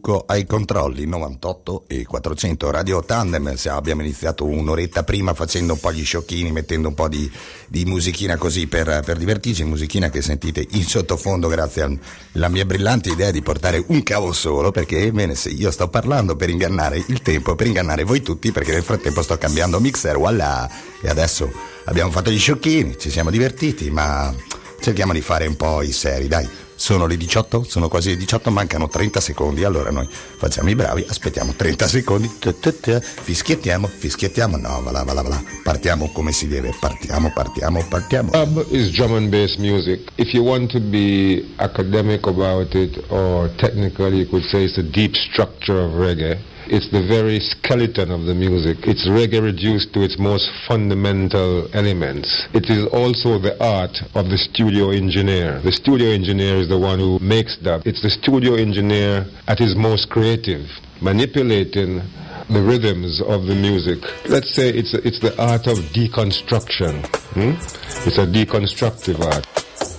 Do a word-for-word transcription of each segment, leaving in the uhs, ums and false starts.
Tuco ai controlli, novantotto e quattrocento Radio Tandem. Abbiamo iniziato un'oretta prima facendo un po' gli sciocchini, mettendo un po' di, di musichina così per, per divertirci, musichina che sentite in sottofondo grazie alla mia brillante idea di portare un cavo solo, perché ebbene se io sto parlando per ingannare il tempo, per ingannare voi tutti, perché nel frattempo sto cambiando mixer, voilà, e adesso abbiamo fatto gli sciocchini, ci siamo divertiti, ma cerchiamo di fare un po' i seri, dai. Sono le diciotto, sono quasi le diciotto, mancano trenta secondi, allora noi facciamo i bravi, aspettiamo trenta secondi, fischiettiamo, fischiettiamo, no, va là, va là, va là, partiamo come si deve, partiamo, partiamo, partiamo. Dub is drum and bass music. If you want to be academic about it or technical, you could say it's the deep structure of reggae. It's the very skeleton of the music. It's reggae reduced to its most fundamental elements. It is also the art of the studio engineer. The studio engineer is the one who makes dub. It's the studio engineer at his most creative, manipulating the rhythms of the music. Let's say it's a, it's the art of deconstruction. Hmm? It's a deconstructive art.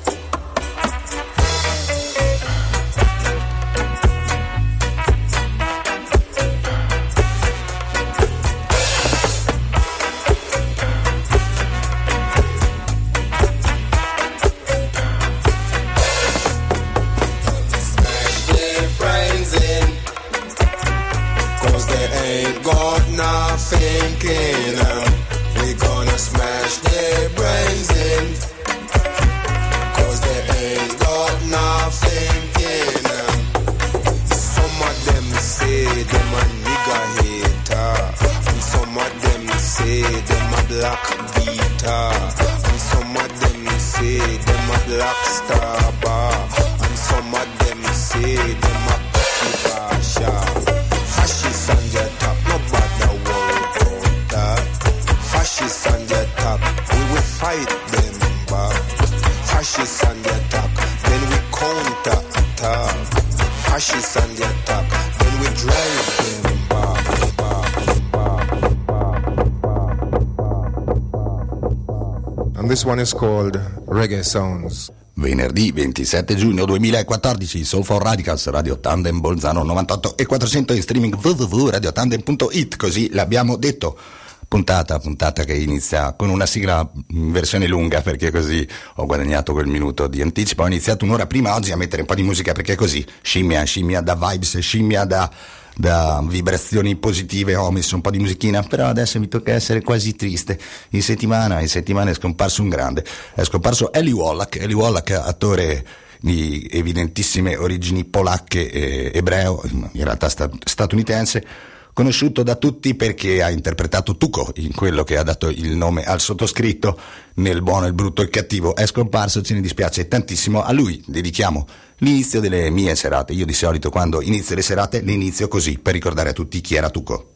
This one is called Reggae Sounds. Venerdì ventisette giugno duemilaquattordici, Soul for Radicals, Radio Tandem Bolzano novantotto e quattrocento in streaming w w w punto radio tandem punto it, così l'abbiamo detto. Puntata, puntata che inizia con una sigla in versione lunga, perché così ho guadagnato quel minuto di anticipo. Ho iniziato un'ora prima oggi a mettere un po' di musica, perché così scimmia, scimmia da vibes, scimmia da... da vibrazioni positive, ho messo un po' di musichina, però adesso mi tocca essere quasi triste. In settimana, in settimana è scomparso un grande, è scomparso Eli Wallach, Eli Wallach, attore di evidentissime origini polacche e ebreo, in realtà statunitense, conosciuto da tutti perché ha interpretato Tuco in quello che ha dato il nome al sottoscritto, nel buono, il brutto e il cattivo. È scomparso, ce ne dispiace tantissimo, a lui dedichiamo l'inizio delle mie serate. Io di solito quando inizio le serate le inizio così, per ricordare a tutti chi era Tuco.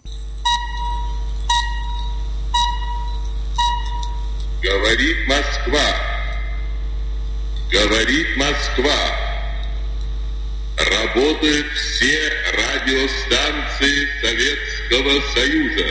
Говорит Москва, говорит Москва. Работают все радиостанции Советского Союза.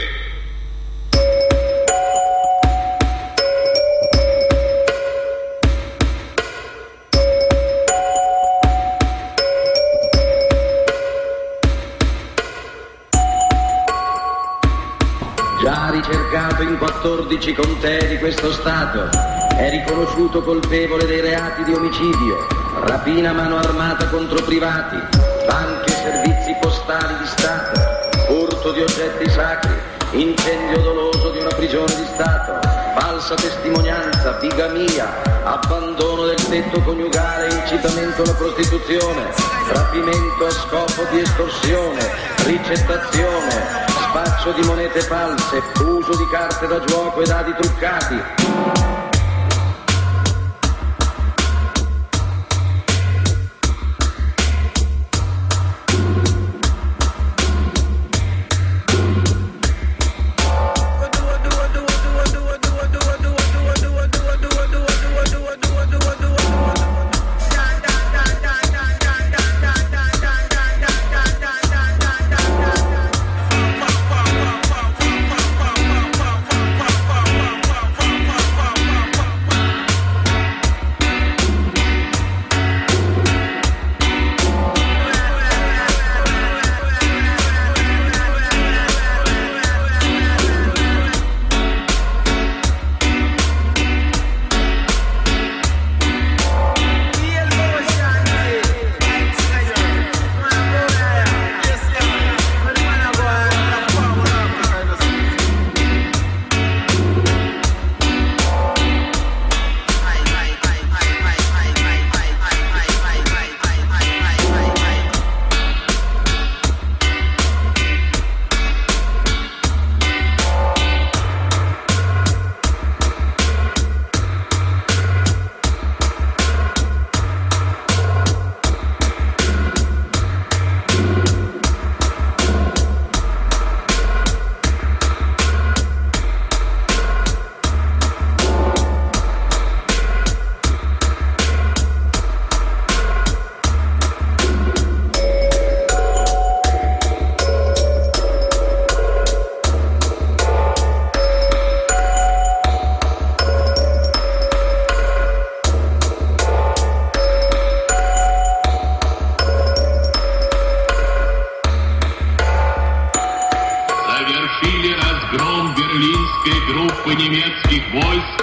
Già ricercato in quattordici contee di questo Stato, è riconosciuto colpevole dei reati di omicidio, rapina a mano armata contro privati, banche e servizi postali di Stato, furto di oggetti sacri, incendio doloso di una prigione di Stato, falsa testimonianza, bigamia, abbandono del tetto coniugale, incitamento alla prostituzione, rapimento a scopo di estorsione, ricettazione, spaccio di monete false, uso di carte da gioco e dadi truccati. немецких войск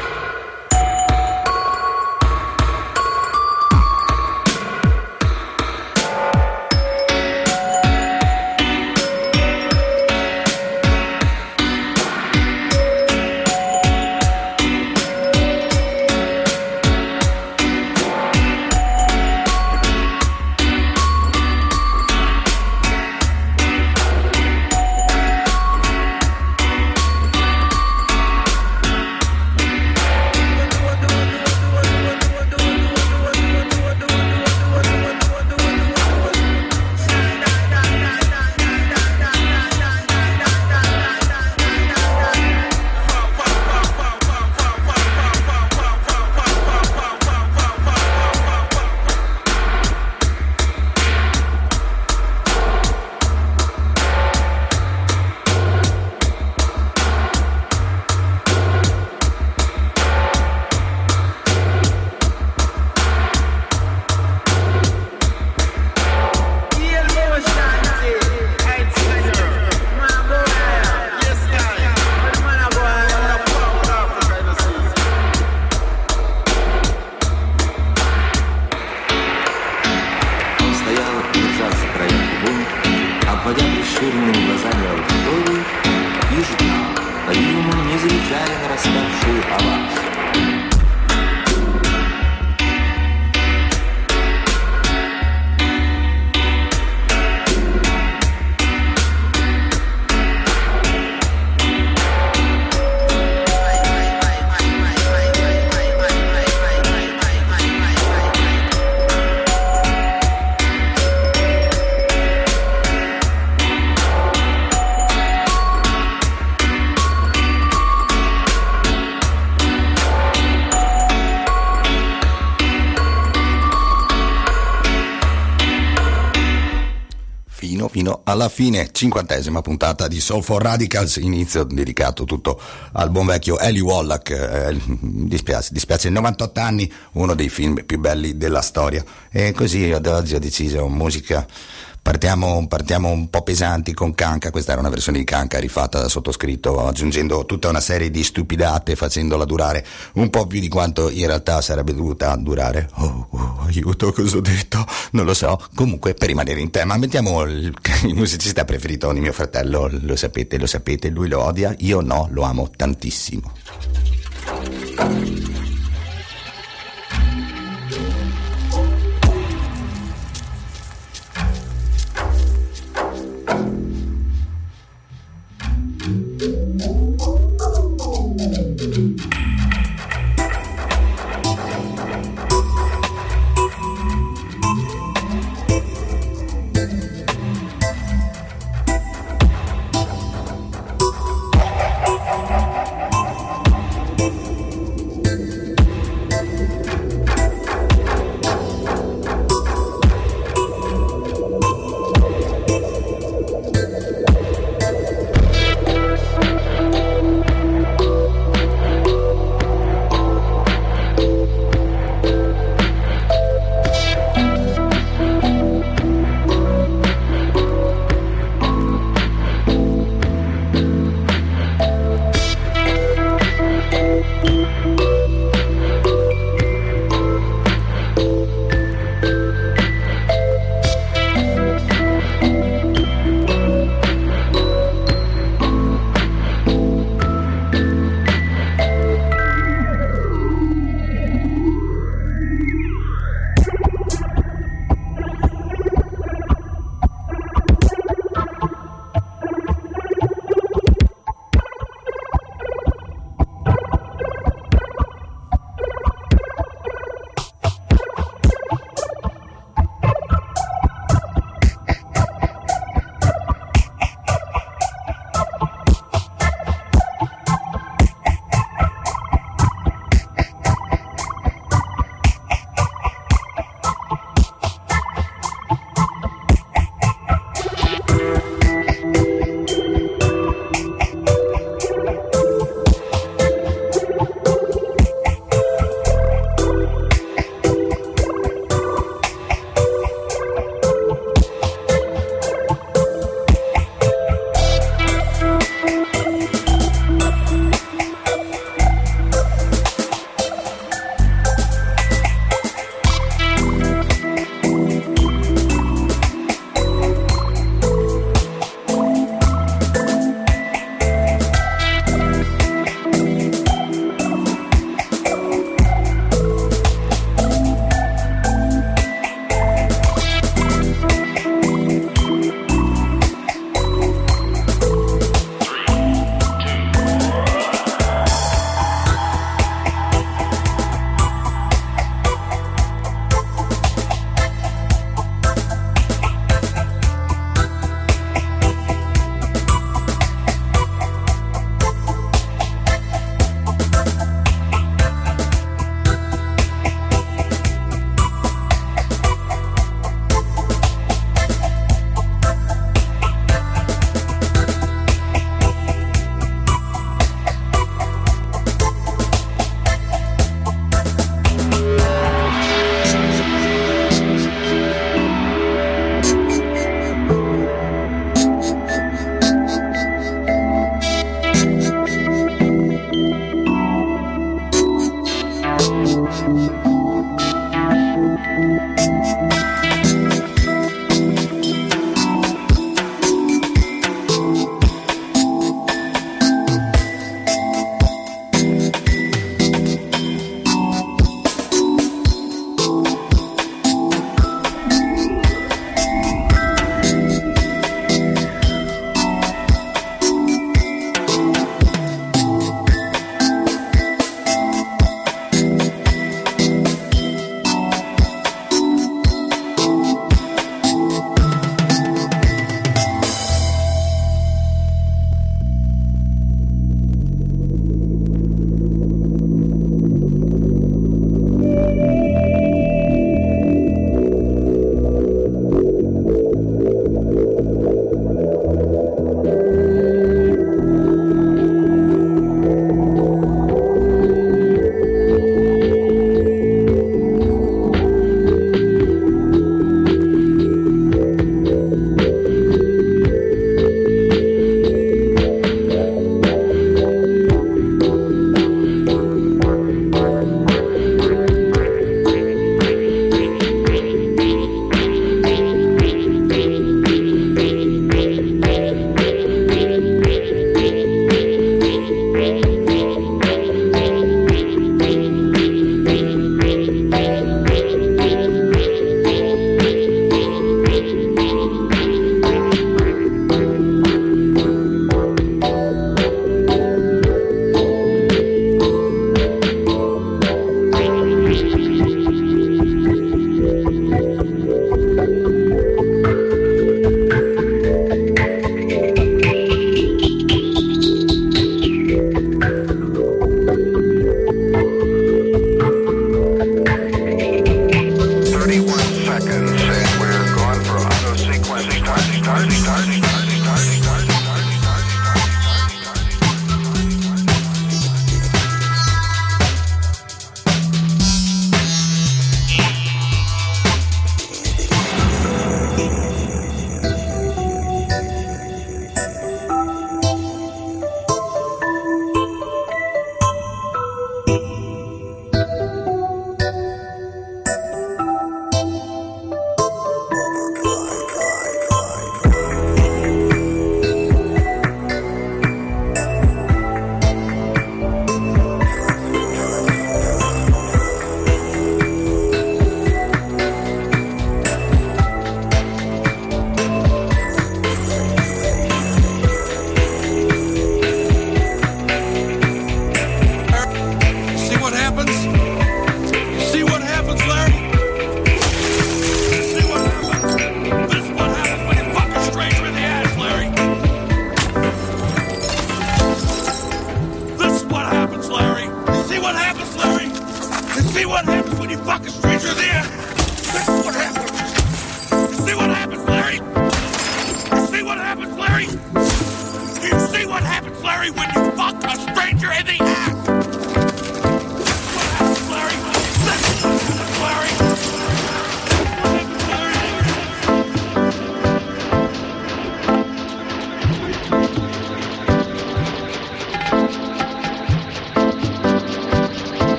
fino alla fine, cinquantesima puntata di Soul for Radicals, inizio dedicato tutto al buon vecchio Eli Wallach, eh, dispiace, dispiace novantotto anni, uno dei film più belli della storia, e così ad oggi ho deciso musica. Partiamo, partiamo un po' pesanti con Kanka. Questa era una versione di Kanka rifatta da sottoscritto, aggiungendo tutta una serie di stupidate, facendola durare un po' più di quanto in realtà sarebbe dovuta durare. Oh, oh aiuto, cosa ho detto? Non lo so. Comunque, per rimanere in tema, mettiamo il, il musicista preferito di mio fratello, lo sapete, lo sapete, lui lo odia, io no, lo amo tantissimo.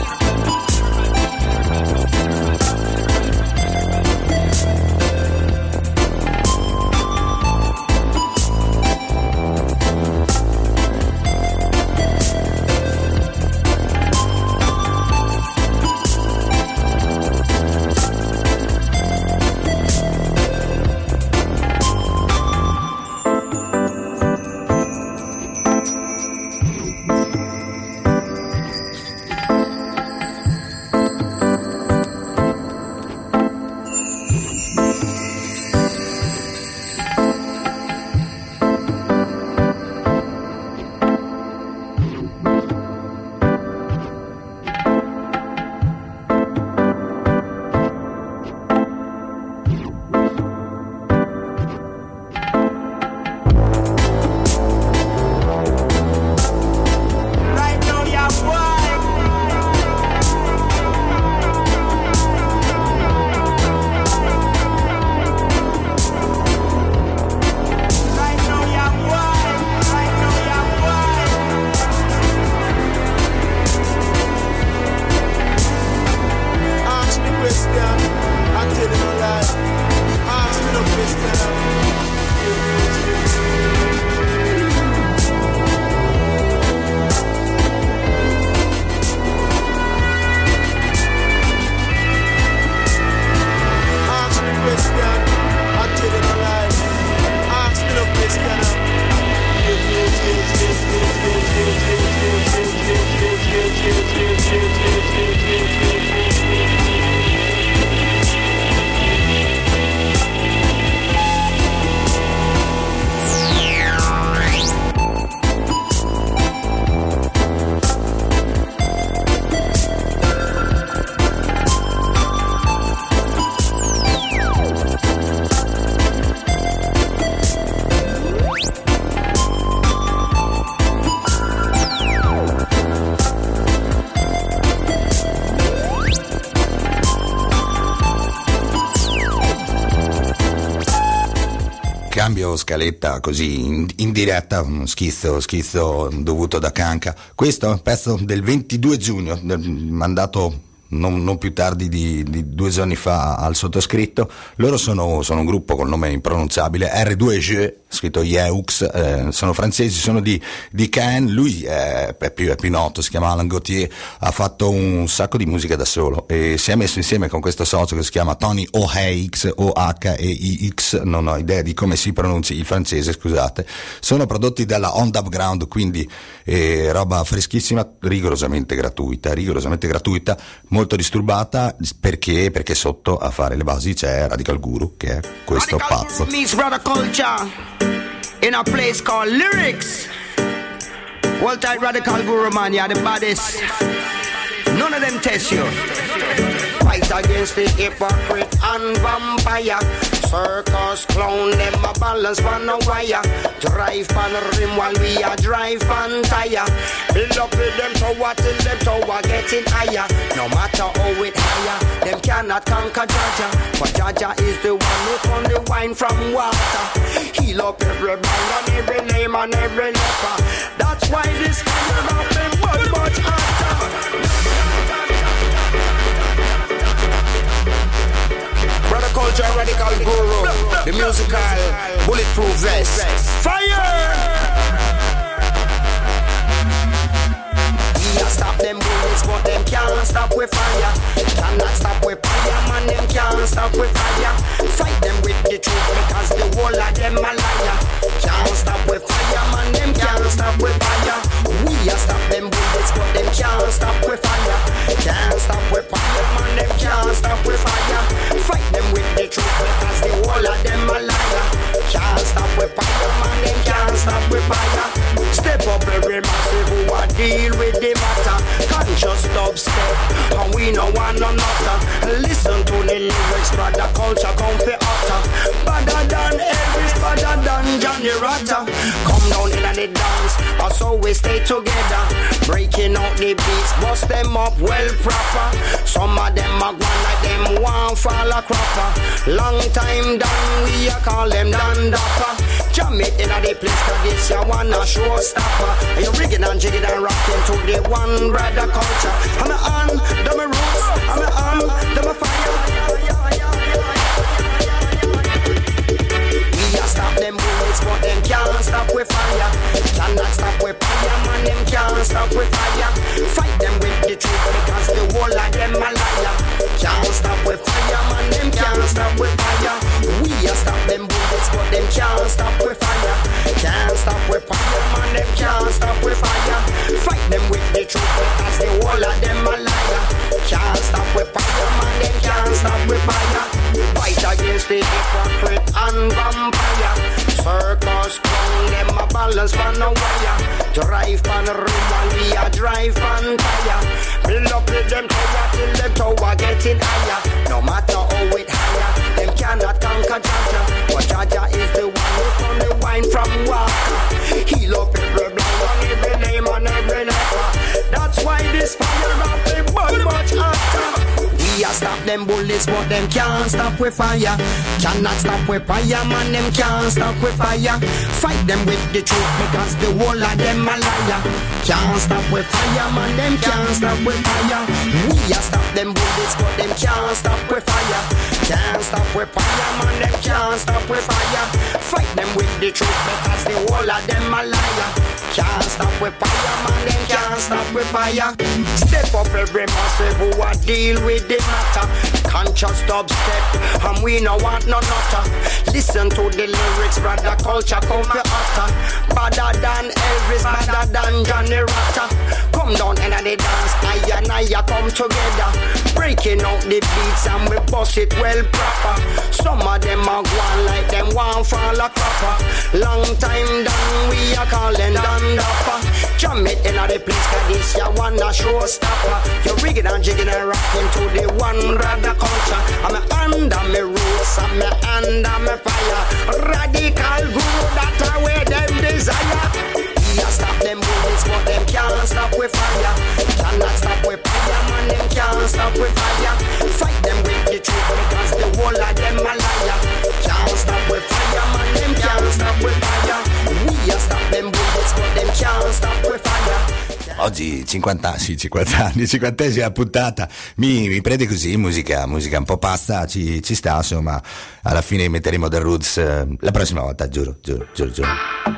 Cambio scaletta così in, in diretta, uno schizzo, schizzo dovuto da Kanka. Questo è un pezzo del ventidue giugno, del, mandato non, non più tardi di, di due giorni fa al sottoscritto. Loro sono, sono un gruppo col nome impronunciabile, R due G, scritto Yeux, eh, sono francesi, sono di, di Caen. Lui è, è, più, è più noto, si chiama Alain Gauthier, ha fatto un sacco di musica da solo e si è messo insieme con questo socio che si chiama Tony O'Heix, O H E I X, non ho idea di come si pronunci il francese, scusate. Sono prodotti dalla On Dub Ground, quindi eh, roba freschissima, rigorosamente gratuita, rigorosamente gratuita, molto disturbata, perché perché sotto a fare le basi c'è Radical Guru, che è questo Radical pazzo. Guru meets brother culture in a place called Lyrics. Well tight Radical Guru, man, you're the baddest. None of them test you. Fight against the hypocrite and vampire. Circus clown, them a balance on a wire. Drive pan rim while we a drive pan tire. Build up with them tower till them tower getting higher. No matter how it higher, them cannot conquer Jaja. But Jaja is the one who turn the wine from water. Heal up every band and every name and every leper. That's why this kind of them much much harder. Brother Culture, Radical Guru, the musical bulletproof vest. Fire! We a stop them bullets, but them can't stop with fire. Cannot stop with fire, man, them can't stop with fire. Fight them with the truth because the whole of them a liar. Can't stop with fire, man, them can't stop with fire. We a stop them bullets, but them can't stop with fire. Can't stop with fire, man, them can't stop with fire. Fight them with the truth because the whole of them a liar. Can't stop with fire, man, them can't stop with fire. Step up every massive who a deal with the matter. Conscious dubstep, and we know one or not. Listen to the lyrics, but the culture come fi utter. Better than Elvis, better than Johnny Rotter. Come down in the dance, also we stay together. Breaking out the beats, bust them up well proper. Some of them are gone like them one fall a cropper. Long time done, we a call them Dan Dapper. Jam it in the place, cause this ya one a showstopper. And you rigging and jigging and rocking to the one brother culture. I'm a on, them a roots, I'm a on, them a fire. We a stop them bullets, but them can't stop with fire. Cannot stop with fire, man, them can't stop with fire. Fight them with the truth, because the whole of them a liar. Can't stop with fire, man, them can't stop with fire. We a stop them bullets, but them can't stop with fire. Can't stop with fire, man, them can't stop with fire. Fight them with the truth, because the whole of them a liar. Can't stop with fire, man, them can't stop with fire. Fight against the hypocrite and vampire. Circus clown, them a balance pan a wire. Drive pan a room and we a drive pan tire. Build up with them tower till them tower getting higher. No matter how it higher, them cannot conquer Jaja. But Jaja is the one who come the wine from water. Heal up every blind on every name and every leper. That's why this fire up the burn much hotter. We a stop them bullets, but them can't stop with fire. Cannot stop with fire, man, them can't stop with fire. Fight them with the truth, because the whole of them a liar. Can't stop with fire, man, them can't stop with fire. We a stop them bullets, but them can't stop with fire. Can't stop with fire, man, them can't stop with fire. Fight them with the truth, because the whole of them a liar. Can't stop with fire, man, them can't stop with fire. Step up every massive who a deal with the matter. Conscious dubstep, and we no want no nutter. Listen to the lyrics, brother, culture come for utter. Better than Elvis, better than Johnny Rotter. Come down and the dance, I and I come together. Breaking out the beats and we bust it well proper. Some of them are gone like them one fall a cropper. Long time done, we are calling Dan Dapper. Jam it in the place, cause this ya one a showstopper. You're rigging and jigging and rocking to the one brother culture. I'm a under me roots, I'm a under me fire. Radical guru, that's where them desire. We a stop them bullets, but them can't stop with fire. Cannot stop with fire, man, them can't stop with fire. Fight them with the truth, because the whole of them a liar. Can't stop with fire, man, them can't stop with fire. We a stop them bullets, but them can't stop with fire. Oggi cinquanta, sì, cinquanta anni, cinquantesima puntata, mi, mi prende così, musica, musica un po' pazza, ci, ci sta, insomma, alla fine metteremo The Roots eh, la prossima volta, giuro, giuro, giuro, giuro.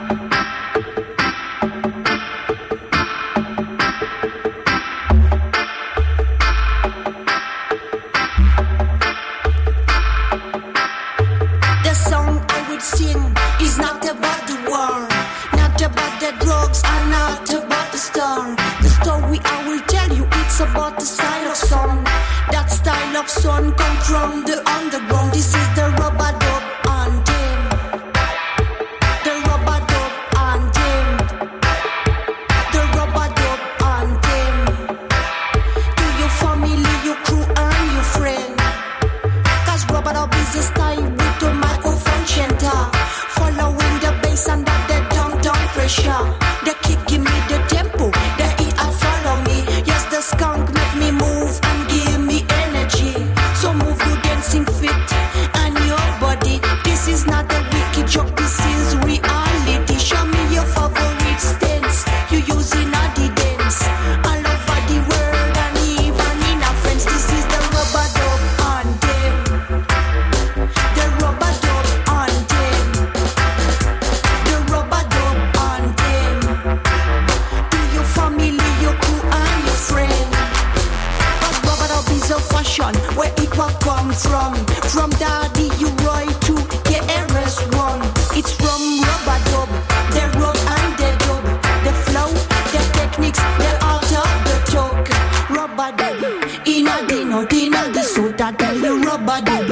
The song I would sing is not about the war, not about the drugs, and not about the star. The story I will tell you, it's about the style of song. That style of song come from the underground. This is the rubber dub anthem. The rubber dub anthem. The rubber dub anthem. To your family, your crew, and your friend. Cause rubber dub is the style with the microphone center. Following the bass and that the down-down pressure. The kick give me the tempo, the E I follow me. Yes, the skunk make me move and give me energy. So move your dancing feet and your body. This is not a wicked joke, this is reality. Show me your favorite stance, you using a the dance. All over the world and even in our friends. This is the rubber dub anthem. The rubber dub anthem. The rubber dub anthem. To your family, your crew and your friend. Cause rubber dub is a fashion where it will come from. From Daddy U Roy to K R S One. It's from rubber dub, the rock and the dub. The flow, the techniques, the art of the talk. Rubber dub, in a dino, dino, the suit that tell you rubber dub.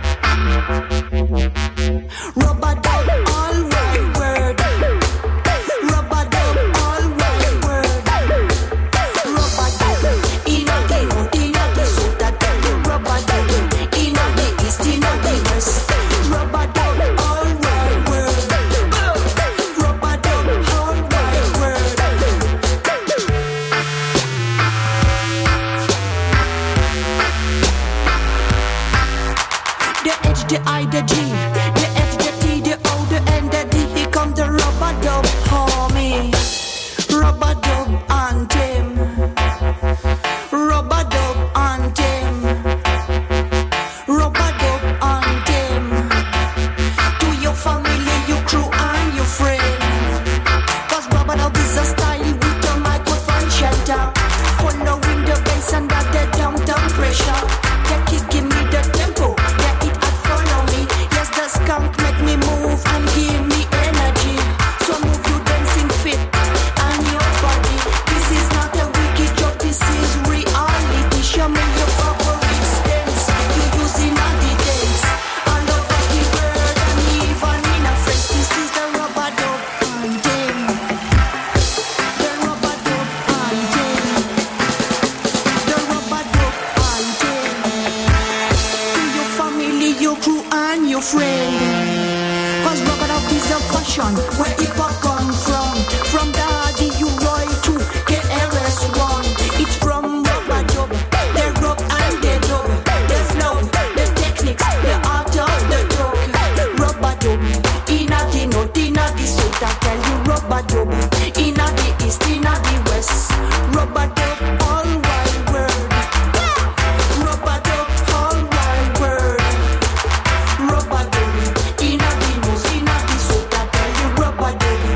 Rubber dub, all one word. Rubber dub, all one word. Rubber dub, in a dino, dino, the suit the I, the G, the F, the T, the O, the N, the D. Here come the rubber dub, homie. Rubber dub anthem. Rubber dub anthem. Rubber dub anthem. To your family, your crew and your friend. Cause rubber dub is a style with the microphone shelter. Following the bass and that the downtown pressure. Yeah, keep give me the tempo. Yeah, it had follow me. Yes, the skunk make me move and give me energy. So move you dancing fit and your body. This is not a wicked joke, this is reality. Show me your favorite stance. You using all the dance. All over the world and even in a face. This is the rubber dub anthem. The rubber dub anthem. The rubber dub anthem. To your family, your crew and your friend. Cause rubber dub is a fashion where hip hop come from. From Daddy U Roy to K R S One. It's from rubber dub. The rub and the dub. The flow, the techniques, the art of the dub. Rubber dub. Inna the north, inna the south, I tell you rubber dub. Inna the east, inna the west. Rubber dub all wide world. Rubber dub all wide world. Rubber dub. Inna the north, inna the south, I tell you rubber dub.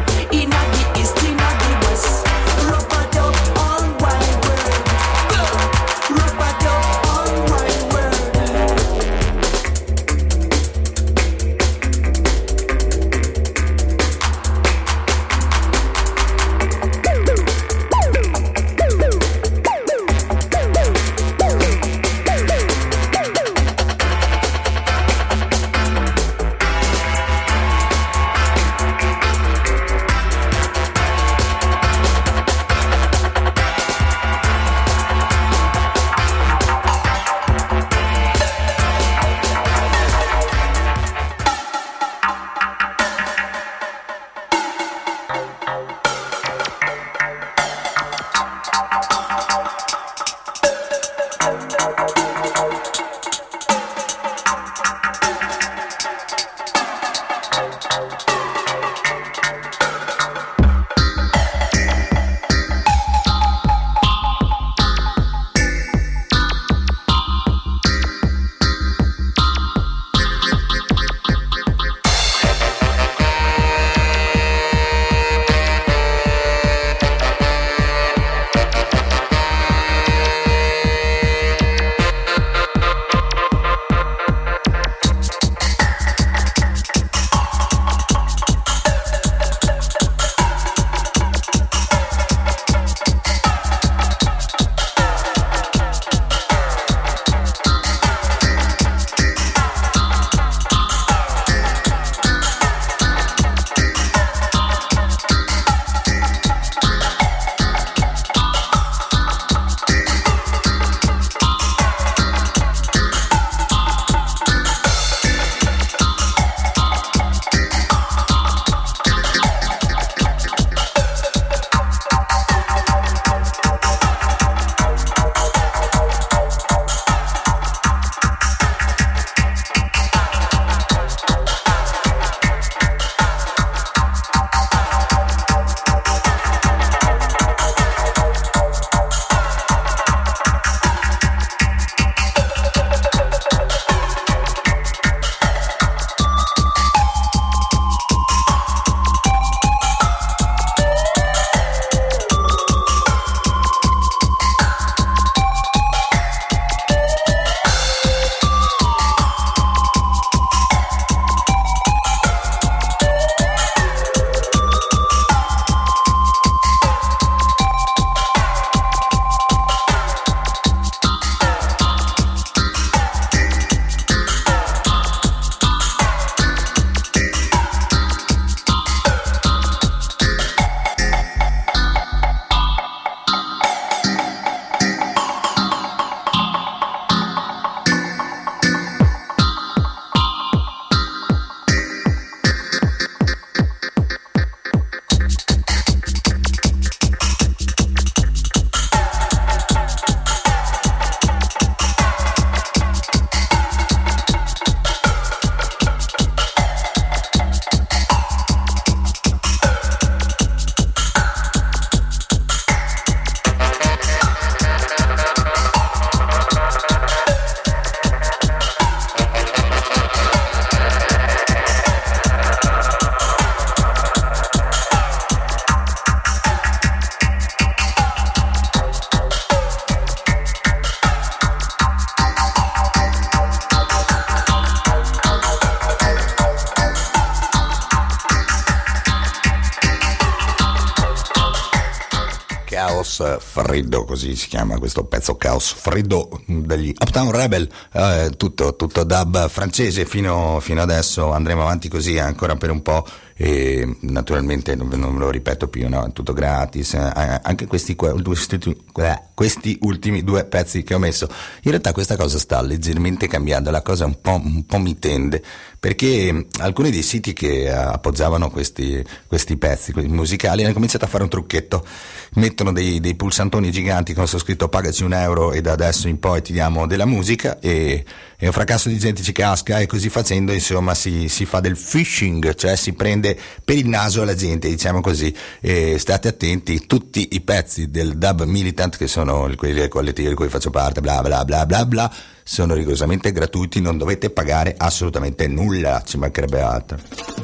Caos Freddo, così si chiama questo pezzo, Caos Freddo degli Uptown Rebel, eh, tutto, tutto dub francese fino, fino adesso. Andremo avanti così ancora per un po'. E naturalmente non, non me lo ripeto più, no? Tutto gratis, eh, anche questi, questi, questi ultimi due pezzi che ho messo. In realtà questa cosa sta leggermente cambiando, la cosa un po', un po' mi tende, perché alcuni dei siti che appoggiavano questi, questi pezzi questi musicali hanno cominciato a fare un trucchetto, mettono dei, dei pulsantoni giganti con su scritto pagaci un euro e da adesso in poi ti diamo della musica, e, e un fracasso di gente ci casca, e così facendo insomma si, si fa del phishing, cioè si prende per il naso la gente, diciamo così. E state attenti, tutti i pezzi del dub militant, che sono quelli collettivi di cui faccio parte, bla bla bla bla bla, sono rigorosamente gratuiti, non dovete pagare assolutamente nulla, ci mancherebbe altro.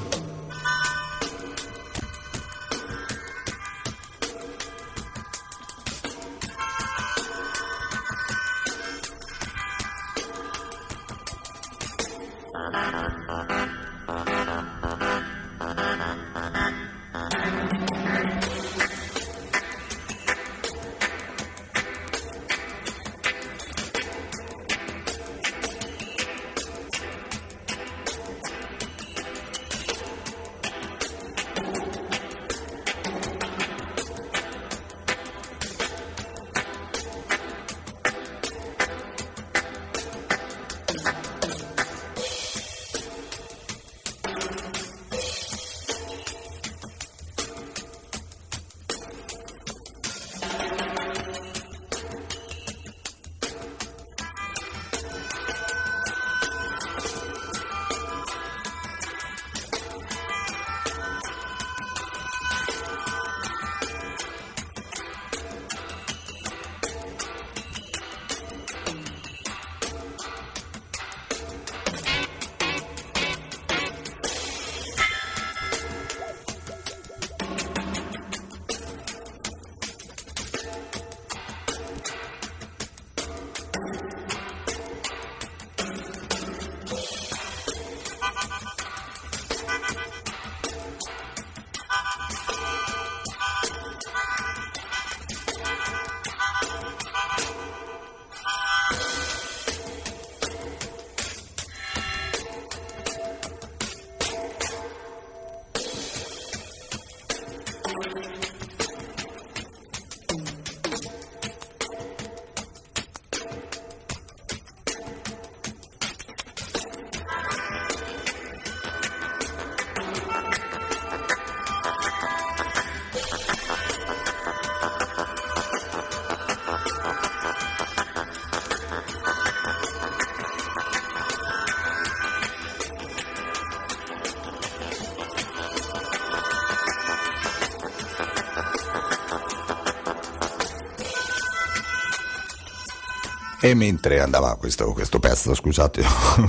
E mentre andava questo, questo pezzo, scusate,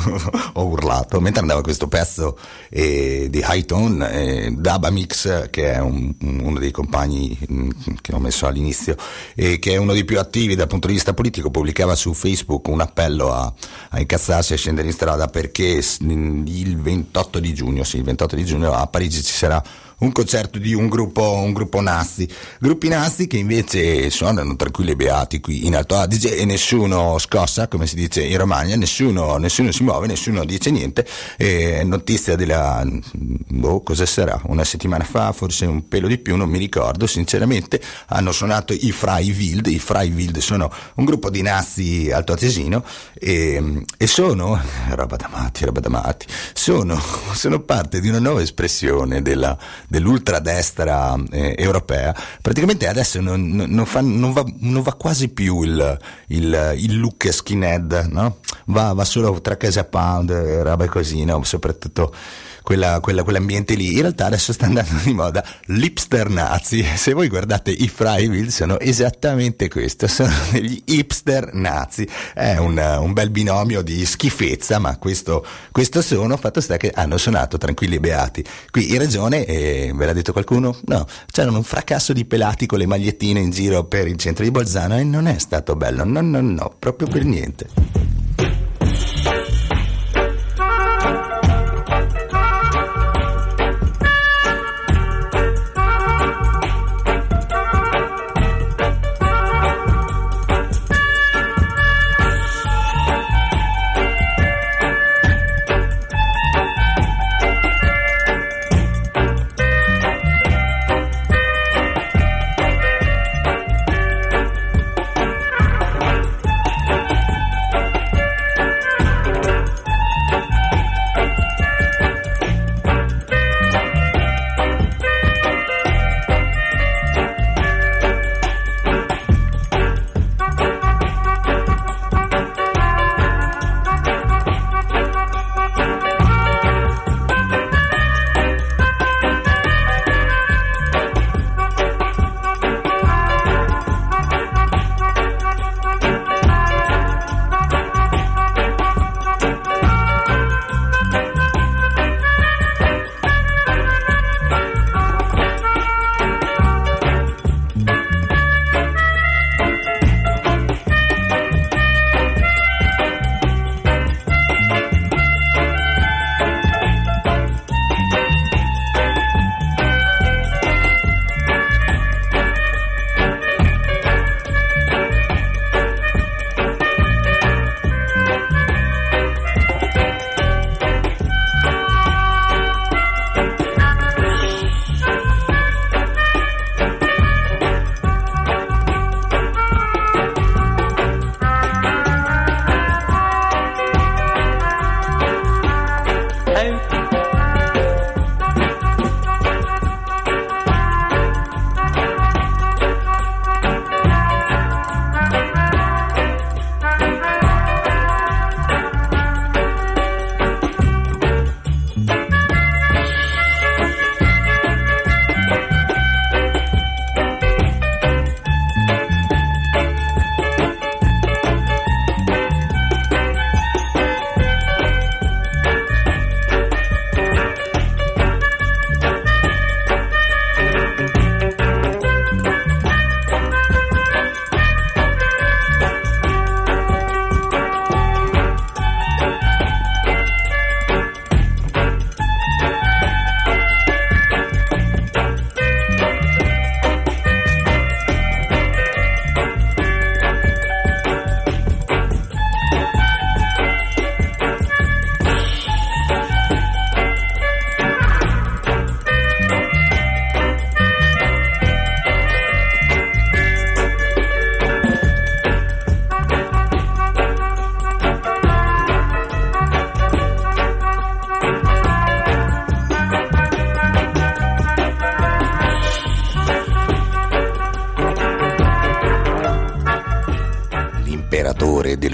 ho urlato, mentre andava questo pezzo eh, di High Tone, eh, Daba Mix, che è un, uno dei compagni mh, che ho messo all'inizio e che è uno dei più attivi dal punto di vista politico, pubblicava su Facebook un appello a, a incazzarsi e a scendere in strada, perché il ventotto di giugno, sì, il ventotto di giugno a Parigi ci sarà un concerto di un gruppo, un gruppo nazi, gruppi nazi che invece suonano tranquilli e beati qui in Alto Adige, e nessuno scossa, come si dice in Romagna, nessuno, nessuno si muove, nessuno dice niente. E notizia della, boh, cosa sarà, una settimana fa, forse un pelo di più, non mi ricordo sinceramente, hanno suonato i Freiwild. I Freiwild sono un gruppo di nazi altoatesino e, e sono, roba da matti, roba da matti, sono, sono parte di una nuova espressione della dell'ultradestra eh, europea. Praticamente adesso non, non, fa, non, va, non va quasi più il, il, il look skinhead, no? Va, va solo tra casa pound, roba così, no? Soprattutto quella, quella, quell'ambiente lì. In realtà adesso sta andando di moda l'hipster nazi. Se voi guardate i Freiwild sono esattamente questo, sono degli hipster nazi. È un, un bel binomio di schifezza, ma questo, questo sono. Fatto sta che hanno suonato tranquilli e beati qui in regione, e ve l'ha detto qualcuno? No, c'erano un fracasso di pelati con le magliettine in giro per il centro di Bolzano e non è stato bello, no no no, proprio per niente.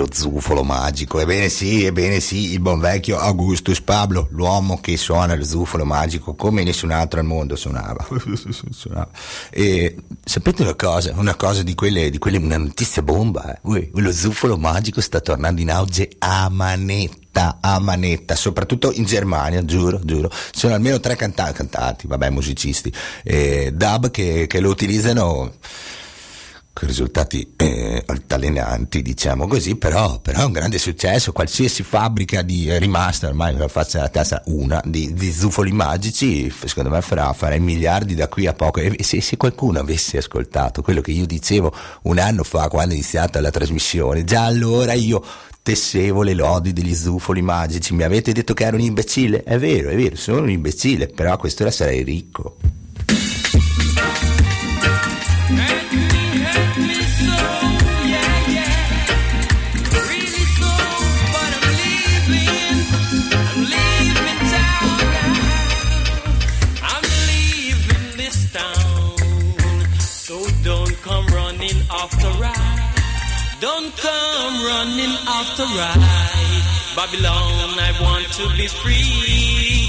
zufolo magico. Ebbene sì, ebbene sì, il buon vecchio Augustus Pablo, l'uomo che suona lo zufolo magico come nessun altro al mondo suonava. suonava. E sapete una cosa, una cosa di quelle, di quelle una notizia bomba, eh? Ui, lo zufolo magico sta tornando in auge a manetta, a manetta, soprattutto in Germania, giuro, giuro. Sono almeno tre canta- cantanti, vabbè, musicisti, eh, dub che, che lo utilizzano con risultati eh, altalenanti, diciamo così, però, però è un grande successo. Qualsiasi fabbrica di eh, rimasta, ormai la faccia la testa una, di, di zufoli magici, secondo me farà, farà miliardi da qui a poco. E se, se qualcuno avesse ascoltato quello che io dicevo un anno fa, quando è iniziata la trasmissione, già allora io tessevo le lodi degli zufoli magici. Mi avete detto che ero un imbecille? È vero, è vero, sono un imbecille, però a quest'ora sarei ricco. After ride, don't come running after ride. Babylon, I want to be free.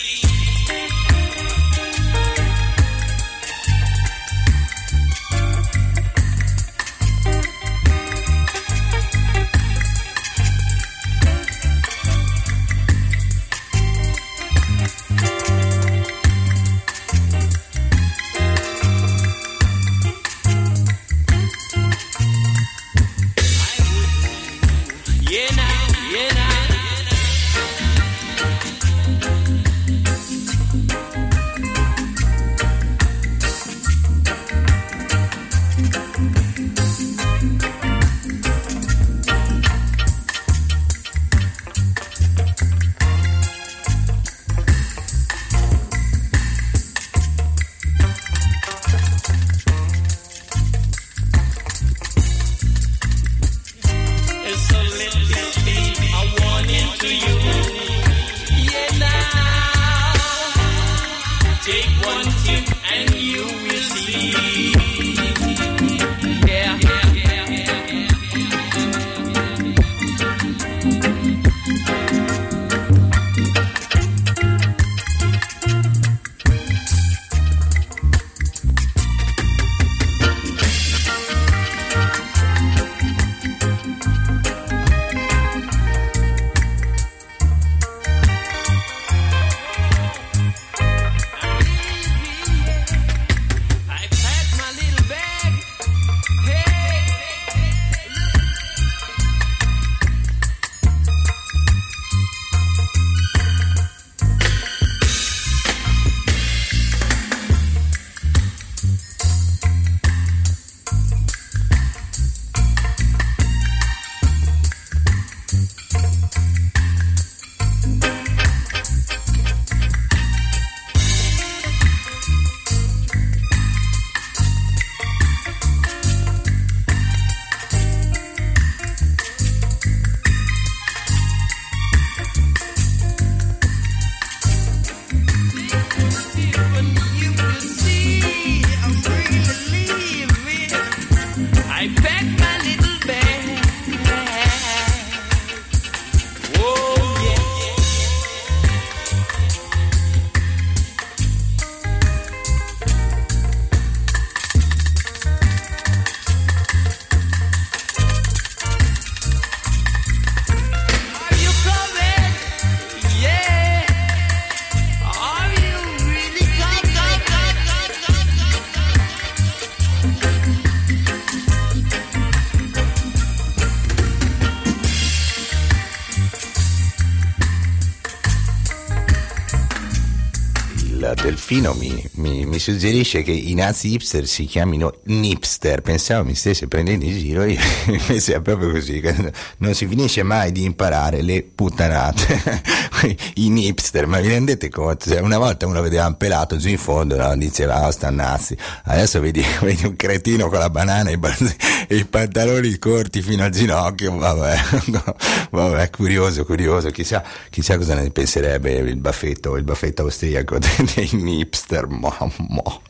Delfino mi, mi, mi suggerisce che i nazi hipster si chiamino nipster. Pensavo mi stesse prendendo in giro, io invece è proprio così, non si finisce mai di imparare le puttanate. I nipster, ma vi rendete conto? Cioè, una volta uno vedeva un pelato giù in fondo, no? Diceva oh sta nazi, adesso vedi, vedi un cretino con la banana e i, e i pantaloni corti fino al ginocchio. Vabbè, vabbè, curioso, curioso, chissà, chissà cosa ne penserebbe il baffetto, il baffetto austriaco dei hipster. Mo, mo.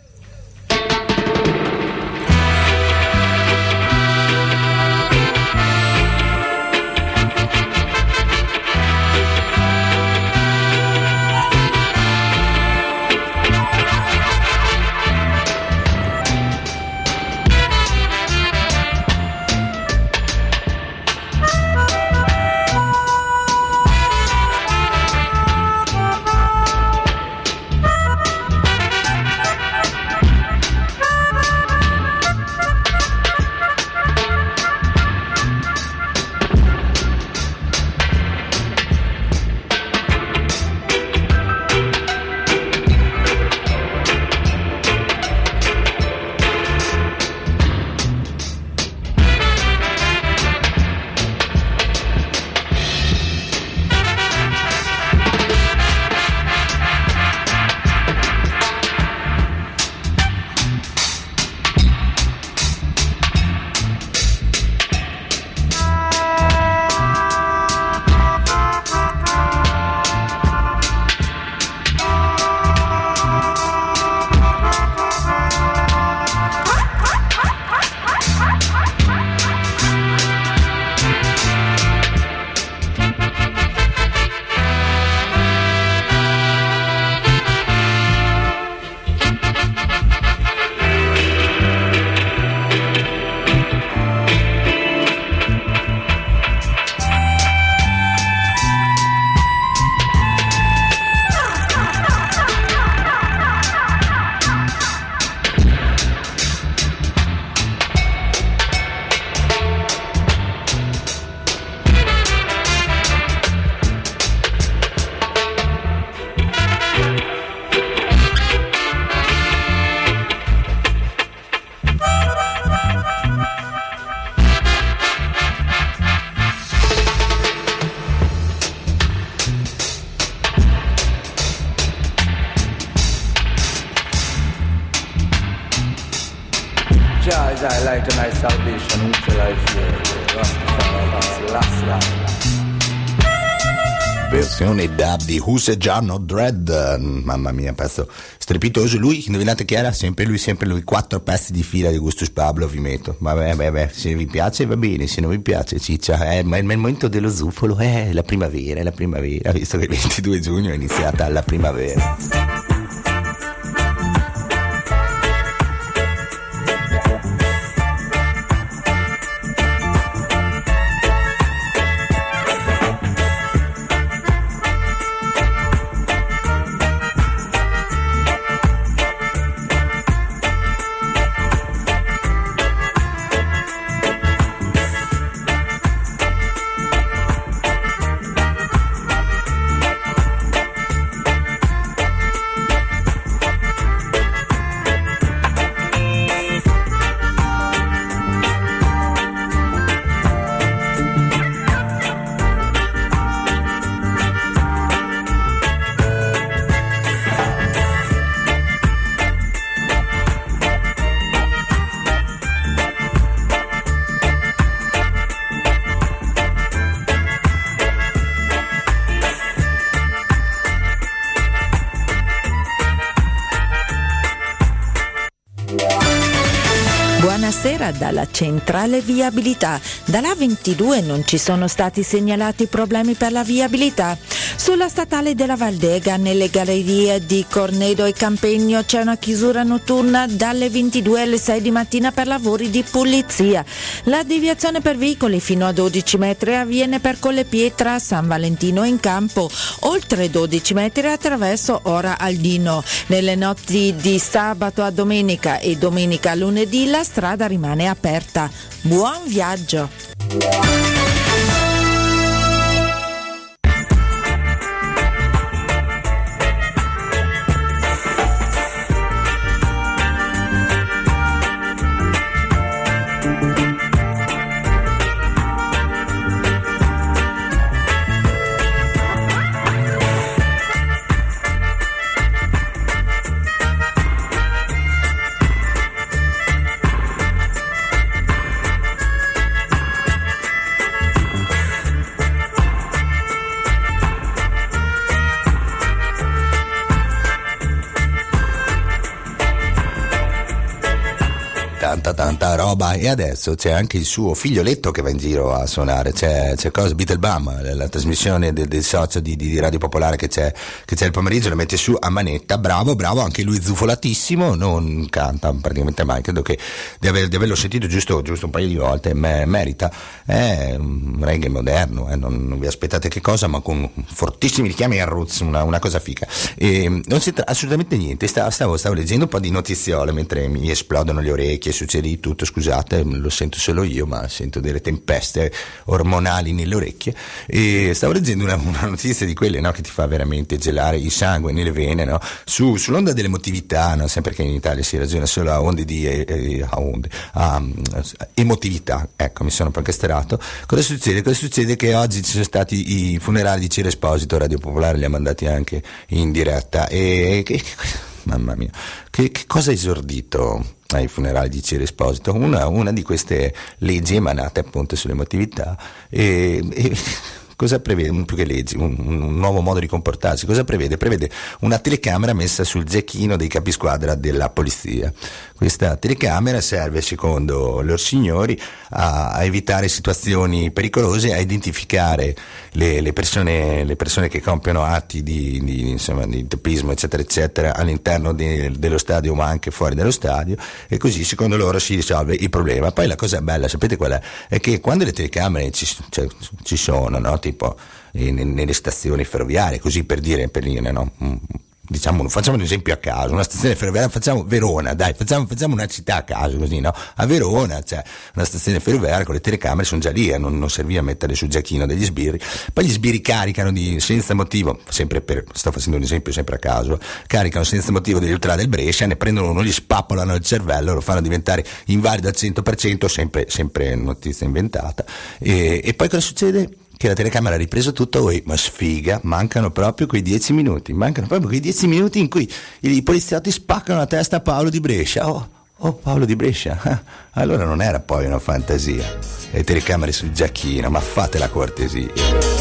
My light and my salvation, which will I fear? Last life. Versione dub di Who's Gianno Dread, mamma mia, pezzo strepitoso. Lui, indovinate chi era? Sempre lui, sempre lui, quattro pezzi di fila di Gustus Pablo vi metto. Vabbè, vabbè, se vi piace va bene, se non vi piace ciccia, eh, ma il momento dello zufolo è la primavera, è la primavera, visto che il ventidue giugno è iniziata la primavera. Buonasera dalla centrale viabilità. Dalla ventidue non ci sono stati segnalati problemi per la viabilità. Sulla statale della Valdega, nelle gallerie di Cornedo e Campegno, c'è una chiusura notturna dalle ventidue alle sei di mattina per lavori di pulizia. La deviazione per veicoli fino a dodici metri avviene per Collepietra, San Valentino in Campo, oltre dodici metri attraverso Ora Aldino. Nelle notti di sabato a domenica e domenica a lunedì la strada rimane aperta. Buon viaggio! Tanta tanta roba, e adesso c'è anche il suo figlioletto che va in giro a suonare. C'è, c'è cosa, Beatlebum, la, la trasmissione del, del socio di, di, di Radio Popolare che c'è, che c'è il pomeriggio, la mette su a manetta. Bravo, bravo, anche lui zufolatissimo, non canta praticamente mai, credo che di, aver, di averlo sentito giusto, giusto un paio di volte, me, merita. È un reggae moderno, eh, non, non vi aspettate che cosa, ma con fortissimi richiami al roots, una, una cosa fica. E non c'entra assolutamente niente. Stavo, stavo, stavo leggendo un po' di notiziole mentre mi esplodono le orecchie, succede di tutto, scusate, lo sento solo io, ma sento delle tempeste ormonali nelle orecchie. E stavo leggendo una, una notizia di quelle, no, che ti fa veramente gelare il sangue nelle vene, no? Su, sull'onda dell'emotività, no? Sempre che in Italia si ragiona solo a onde di eh, eh, a onde, a, um, emotività, ecco, mi sono un po' incasterato. Cosa succede? Cosa succede? Che oggi ci sono stati i funerali di Ciro Esposito, Radio Popolare li ha mandati anche in diretta, e che, mamma mia, che, che cosa ha esordito ai funerali di Ciro Esposito? Una, una di queste leggi emanate appunto sull'emotività, e, e cosa prevede, più che leggi, un, un nuovo modo di comportarsi, cosa prevede? Prevede una telecamera messa sul gecchino dei capisquadra della polizia. Questa telecamera serve, secondo loro signori, a, a evitare situazioni pericolose, a identificare le, le, persone, le persone che compiono atti di, di, insomma, di teppismo, eccetera, eccetera, all'interno di, dello stadio, ma anche fuori dallo stadio, e così, secondo loro, si risolve il problema. Poi la cosa bella, sapete qual è? È che quando le telecamere ci, cioè, ci sono, no? Tipo in, nelle stazioni ferroviarie, così per dire, per dire, no? Diciamo, facciamo un esempio a caso, una stazione ferroviaria, facciamo Verona, dai, facciamo, facciamo una città a caso, così, no? A Verona c'è una stazione ferroviaria con le telecamere, sono già lì, eh, non, non serviva mettere sul giacchino degli sbirri. Poi gli sbirri caricano di, senza motivo, sempre per, sto facendo un esempio sempre a caso, caricano senza motivo degli ultra del Brescia, ne prendono uno, gli spappolano il cervello, lo fanno diventare invalido al cento per cento, sempre, sempre notizia inventata. E, e poi cosa succede? Che la telecamera ha ripreso tutto, oh, ma sfiga, mancano proprio quei dieci minuti, mancano proprio quei dieci minuti in cui i, i poliziotti spaccano la testa a Paolo di Brescia. Oh, Oh, Paolo di Brescia, allora non era poi una fantasia. Le telecamere sul giacchino, ma fate la cortesia.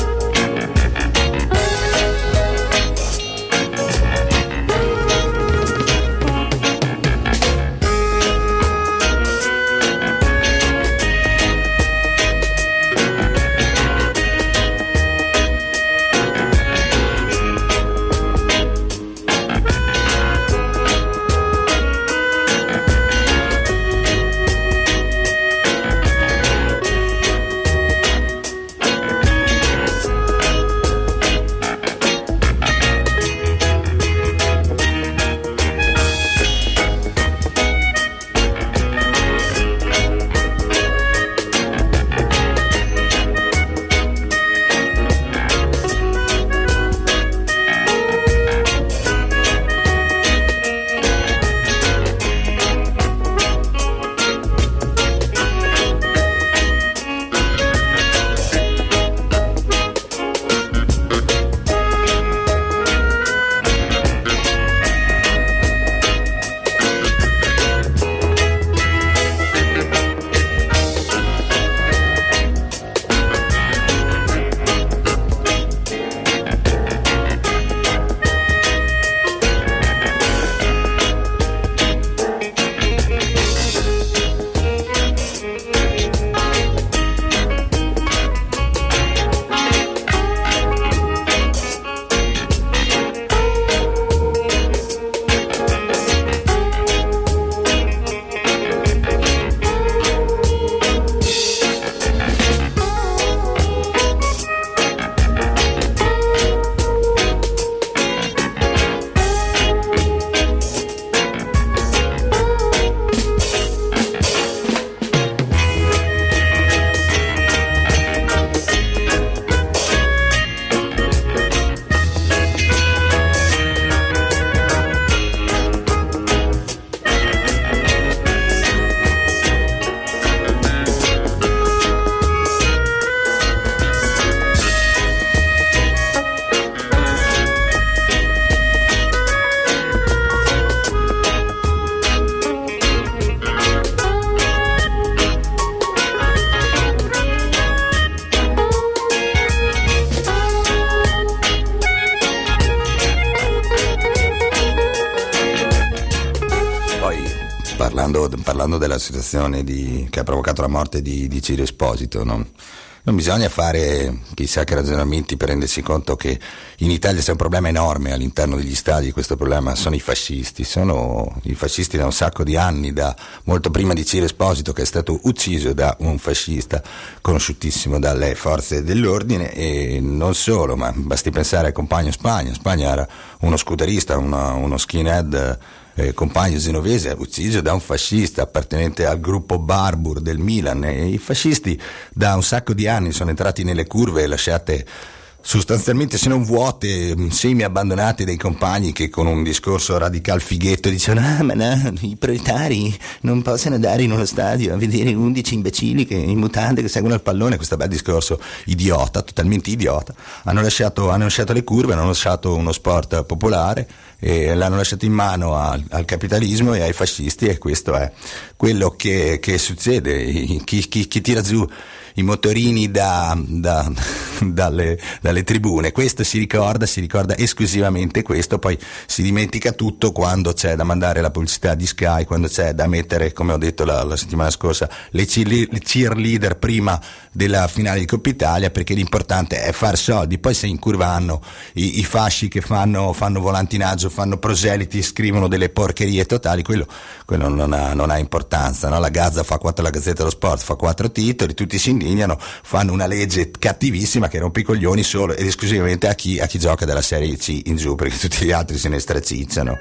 Parlando, parlando della situazione di, che ha provocato la morte di, di Ciro Esposito, no? Non bisogna fare chissà che ragionamenti per rendersi conto che in Italia c'è un problema enorme all'interno degli stadi. Questo problema sono i fascisti, sono i fascisti da un sacco di anni, da molto prima di Ciro Esposito, che è stato ucciso da un fascista conosciutissimo dalle forze dell'ordine, e non solo, ma basti pensare al compagno Spagna. Spagna era uno scooterista, uno, uno skinhead, Eh, compagno genovese, ucciso da un fascista appartenente al gruppo Barbour del Milan. E i fascisti da un sacco di anni sono entrati nelle curve lasciate sostanzialmente, se non vuote, semi abbandonati dai compagni che con un discorso radical fighetto dicevano: ah ma no, i proletari non possono andare in uno stadio a vedere undici imbecilli che in mutande che seguono il pallone. Questo bel discorso idiota, totalmente idiota. Hanno lasciato, hanno lasciato le curve, hanno lasciato uno sport popolare e l'hanno lasciato in mano al, al capitalismo e ai fascisti, e questo è quello che, che succede. Chi, chi, chi tira giù i motorini da, da, dalle, dalle tribune, questo si ricorda, si ricorda esclusivamente questo, poi si dimentica tutto quando c'è da mandare la pubblicità di Sky, quando c'è da mettere, come ho detto la, la settimana scorsa, le, le cheerleader prima della finale di Coppa Italia, perché l'importante è far soldi. Poi se in curva hanno i, i fasci che fanno, fanno volantinaggio, fanno proseliti, scrivono delle porcherie totali, quello, quello non, ha, non ha importanza, no? La Gazza fa quattro, la Gazzetta dello Sport fa quattro titoli, tutti si indignano, fanno una legge cattivissima che rompe i coglioni solo ed esclusivamente a chi, a chi gioca dalla Serie C in giù, perché tutti gli altri se ne stracicciano.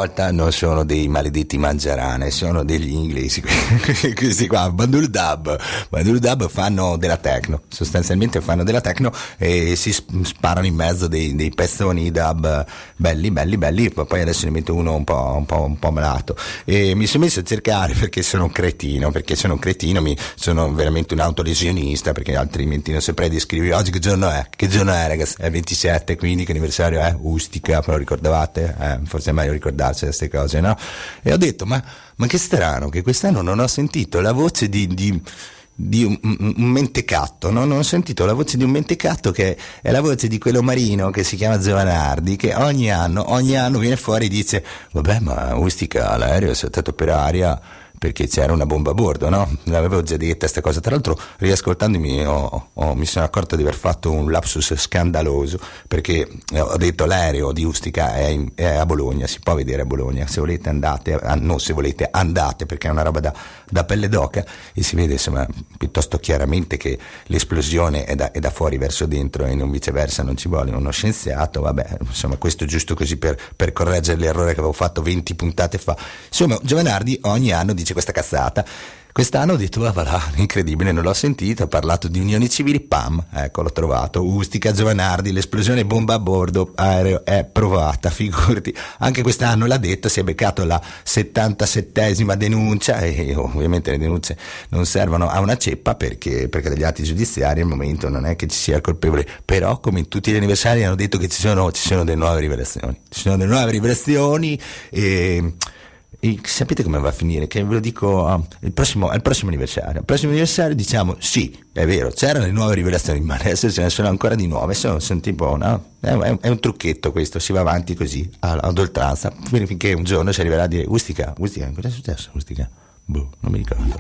volta non sono dei maledetti mangiarane, sono degli inglesi. Questi qua, Bandul Dub, Bandul Dub fanno della techno, sostanzialmente fanno della techno e si sparano in mezzo dei, dei pezzoni dub belli, belli, belli. Poi adesso ne metto uno un po', un po', un po' malato. E mi sono messo a cercare perché sono un cretino, perché sono un cretino, mi sono veramente un autolesionista, perché altrimenti non saprei descrivere. Oggi che giorno è? Che giorno è, ragazzi? È ventisette, quindi che anniversario è? Ustica, però ricordavate? Eh, forse è meglio ricordarsi queste cose, no? E ho detto, ma, ma che strano che quest'anno non ho sentito la voce di, di, di un, un, un mentecatto, no? Non ho sentito la voce di un mentecatto, che è la voce di quello marino che si chiama Giovanardi, che ogni anno, ogni anno viene fuori e dice, vabbè, ma Ustica, l'aereo è saltato per aria perché c'era una bomba a bordo, no? L'avevo già detta questa cosa. Tra l'altro, riascoltandomi ho, ho, mi sono accorto di aver fatto un lapsus scandaloso, perché ho detto l'aereo di Ustica è, in, è a Bologna, si può vedere a Bologna, se volete andate, no, se volete andate, perché è una roba da, da pelle d'oca e si vede insomma piuttosto chiaramente che l'esplosione è da, è da fuori verso dentro e non viceversa, non ci vuole uno scienziato. Vabbè, insomma, questo giusto così per, per correggere l'errore che avevo fatto venti puntate fa. Insomma, Giovanardi ogni anno dice questa cazzata. Quest'anno ho detto, ah, voilà, incredibile, non l'ho sentito, ha parlato di unioni civili, pam, ecco, l'ho trovato, Ustica, Giovanardi, l'esplosione bomba a bordo, aereo è provata, figurati, anche quest'anno l'ha detto, si è beccato la settantasettesima denuncia e ovviamente le denunce non servono a una ceppa perché, perché dagli atti giudiziari al momento non è che ci sia il colpevole, però come in tutti gli anniversari hanno detto che ci sono, ci sono delle nuove rivelazioni, ci sono delle nuove rivelazioni e... E sapete come va a finire? Che ve lo dico uh, il prossimo, al prossimo anniversario. Al prossimo anniversario diciamo sì, è vero, c'erano le nuove rivelazioni, ma adesso ce ne sono ancora di nuove. Sono, sono tipo, no? È, è, è un trucchetto questo, si va avanti così ad oltranza finché un giorno si arriverà a dire Ustica, Ustica, cosa è successo Ustica? Boh, non mi ricordo.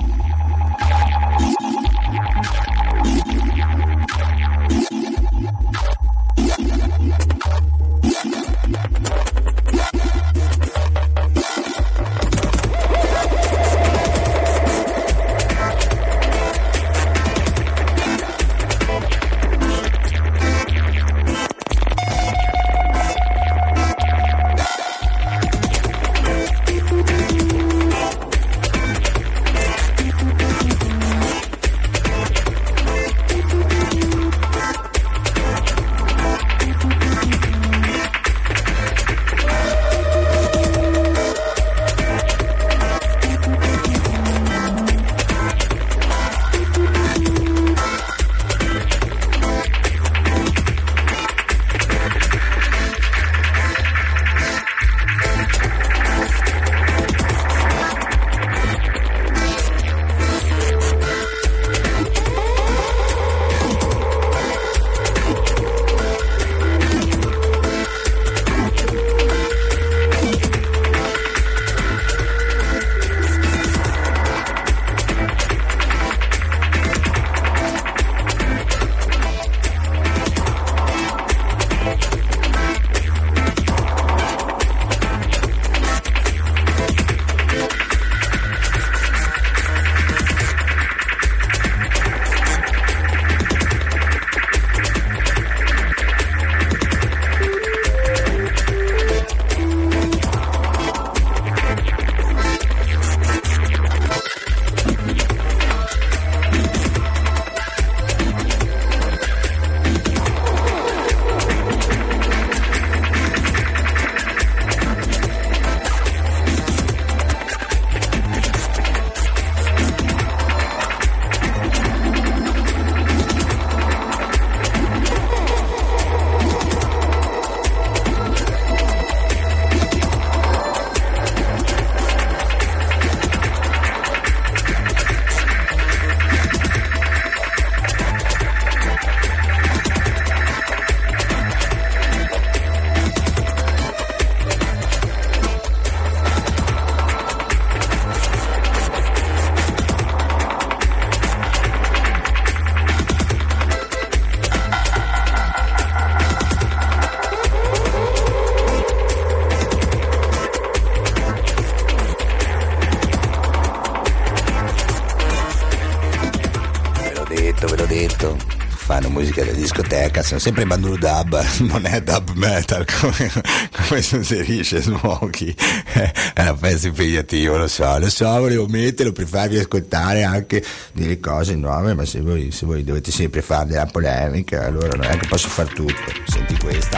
fanno musica da discoteca, sono sempre Banduru Dub, non è dub metal come, come si inserisce Smokey, è un pezzo impegnativo, lo so, lo so, volevo metterlo per farvi ascoltare anche delle cose nuove, ma se voi, se voi dovete sempre fare della polemica, allora non è che posso far tutto. Senti questa.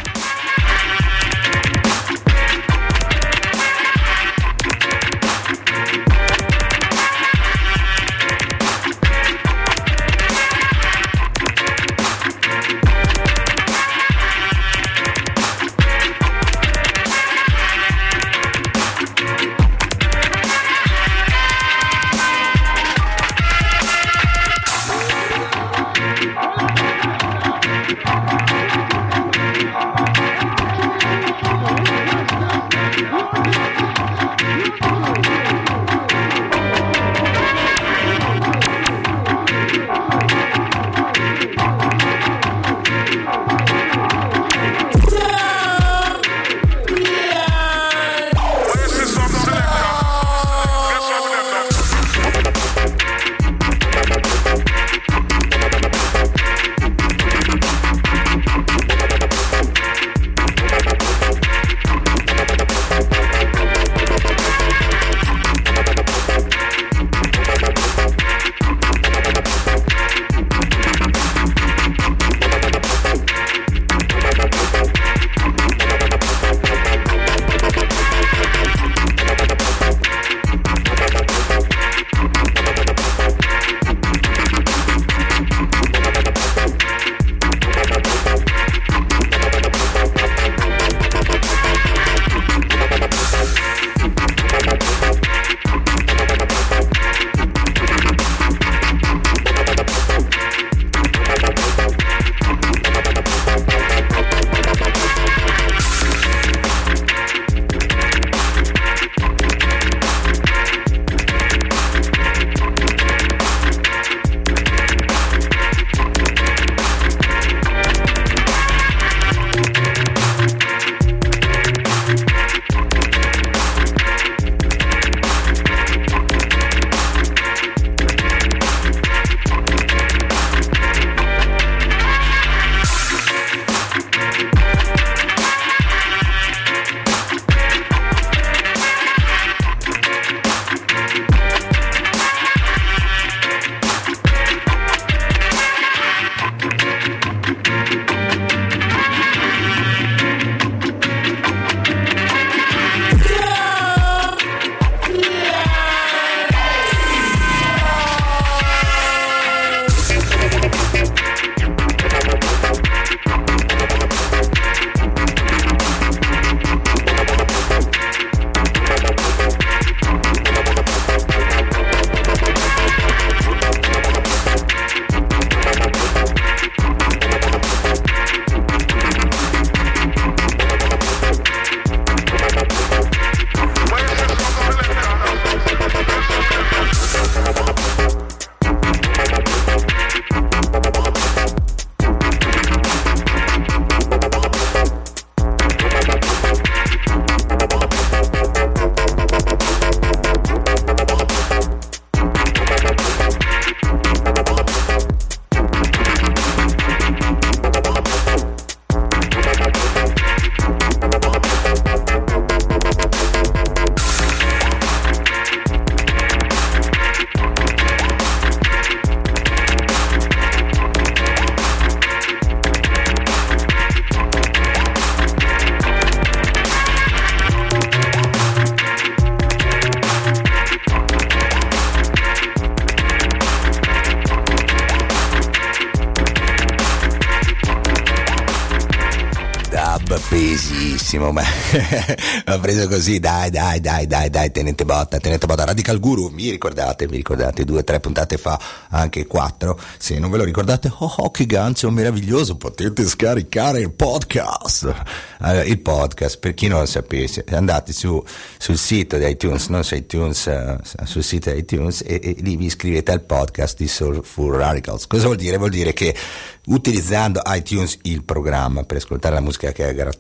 Pesissimo, ma l'ho preso così, dai, dai, dai, dai, dai, tenete botta, tenete botta. Radical Guru, mi ricordate, mi ricordate, due o tre puntate fa, anche quattro, se non ve lo ricordate, oh, oh che gancio meraviglioso, potete scaricare il podcast. Allora, il podcast, per chi non lo sapesse, andate su sul sito di iTunes, non su iTunes, uh, sul sito di iTunes e, e lì vi iscrivete al podcast di Soulful Radicals. Cosa vuol dire? Vuol dire che utilizzando iTunes, il programma per ascoltare la musica che è gratuita,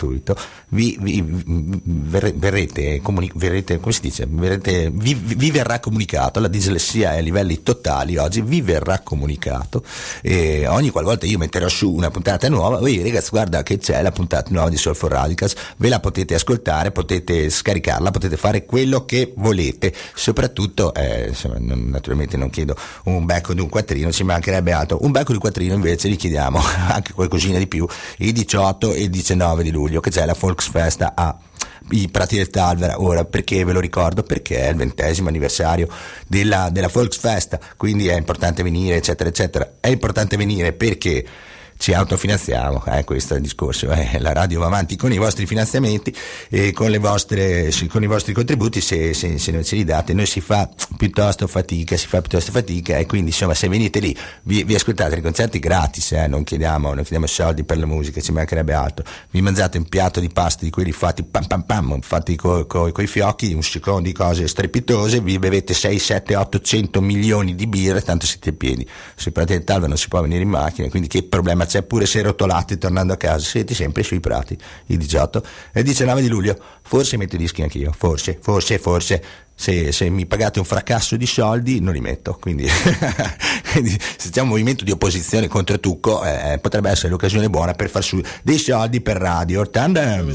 gratuito, vi, vi, vi verrete, comuni, verrete, come si dice, verrete, vi, vi verrà comunicato, la dislessia è a livelli totali oggi, vi verrà comunicato, e ogni qualvolta io metterò su una puntata nuova, voi ragazzi guarda che c'è la puntata nuova di Soul for Radicals, ve la potete ascoltare, potete scaricarla, potete fare quello che volete, soprattutto eh, insomma, non, naturalmente non chiedo un becco di un quattrino, ci mancherebbe altro, un becco di quattrino invece gli chiediamo anche qualcosina di più il diciotto e il diciannove di luglio che c'è la Volksfest a i Prati del Talvera. Ora perché ve lo ricordo? Perché è il ventesimo anniversario della, della Volksfest, quindi è importante venire eccetera eccetera. È importante venire perché ci autofinanziamo, eh, questo è il discorso, eh. La radio va avanti con i vostri finanziamenti e con le vostre, con i vostri contributi, se, se, se non ce li date noi si fa piuttosto fatica, si fa piuttosto fatica e quindi insomma se venite lì vi, vi ascoltate i concerti gratis, eh, non chiediamo non chiediamo soldi per la musica, ci mancherebbe altro, vi mangiate un piatto di pasta di quelli fatti pam pam pam, fatti coi co, co fiocchi, un secondo di cose strepitose, vi bevete sei, sette, ottocento milioni di birre, tanto siete pieni. Sui Prati del Talvera non si può venire in macchina, quindi che problema c'è? Pure se rotolati tornando a casa siete sempre sui prati. Il diciotto e il diciannove di luglio forse metto i dischi anch'io, forse forse forse se, se mi pagate un fracasso di soldi non li metto, quindi, quindi se c'è un movimento di opposizione contro Tucco eh, potrebbe essere l'occasione buona per far su dei soldi per radio Tandem.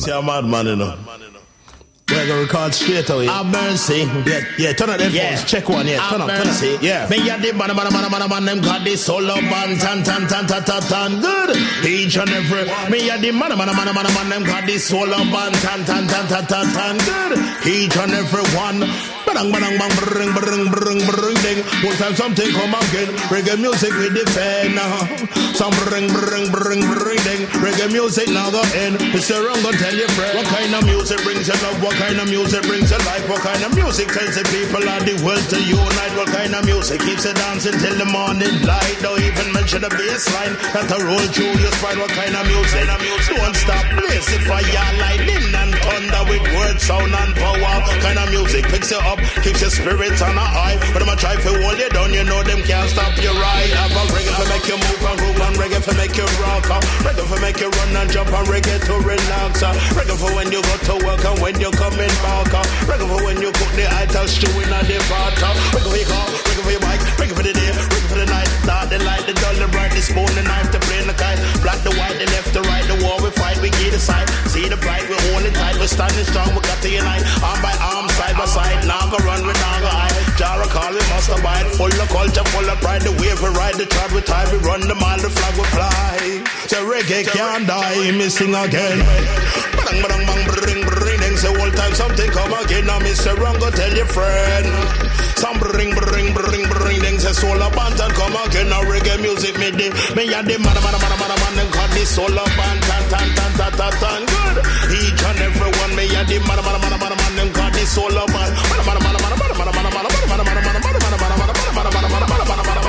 We're gonna record straight away. Have mercy. Yeah, yeah, turn on them yeah. phones. Check one, yeah. Turn up, turn up. Yeah. Me ya the man, man, man, man, man, them got this solo band, tan, tan, tan, tan, tan, tan, good. Each and every. Me ya the man, man, man, man, man, them got this solo band, tan, tan, tan, tan, tan, tan, good. Each and every one. Bang, bang, bang, bring, bring, bring, bring, ding. One time something come again. Reggae music we defend now. Some bring, bring, bring, bring, ding. Reggae music now go in. Mister Wrong gonna tell your friend. What kind of music brings you love? What kind of music brings you life? What kind of music tells the people of the world to unite? What kind of music keeps you dancing till the morning light? Don't even mention the bass line that a roll through your spine. What kind of music? Don't stop blazing fire, lightning and thunder with words, sound and power. What kind of music picks you up, keeps your spirits on a high? But them a try to hold you down, you know them can't stop you right. Have a reggae for make you move and groove, and reggae for make you rock. Reggae for make you run and jump, and reggae to relax. Reggae for when you go to work and when you come in back. Reggae for when you cook the ital stew in a the pot. Reggae for your car, reggae for your bike, reggae for the day, reggae for the night. Dark the light, the dull, the bright, the spoon, the knife, the plane, the kite. Black, the white, the left, the right, the war we fight, we give the side. See the bright, we hold it tight, we standing strong, we got to unite. Arm by arm, side by side, now go run, we now go hide. Jara call, we must abide, full of culture, full of pride. The wave we ride, the tribe we tie, we run the mile, the flag we fly. So reggae can't die, me sing again. Bang, bang, bang, bring, bring. Say all time something come again. Now Mister Wrong go tell your friend. Some bring, bring, bring, bring. Then say soul up and come again. Now reggae music me di. Me ya di man, man, man, man, man. Them got this soul up and tan, tan, tan, tan, tan, tan. Good. Each and every one. Me ya di man, man, man, man, man. Them got this soul up and man, man, man, man, man, man, man, man, man, man, man, man, man, man, man, man, man, man.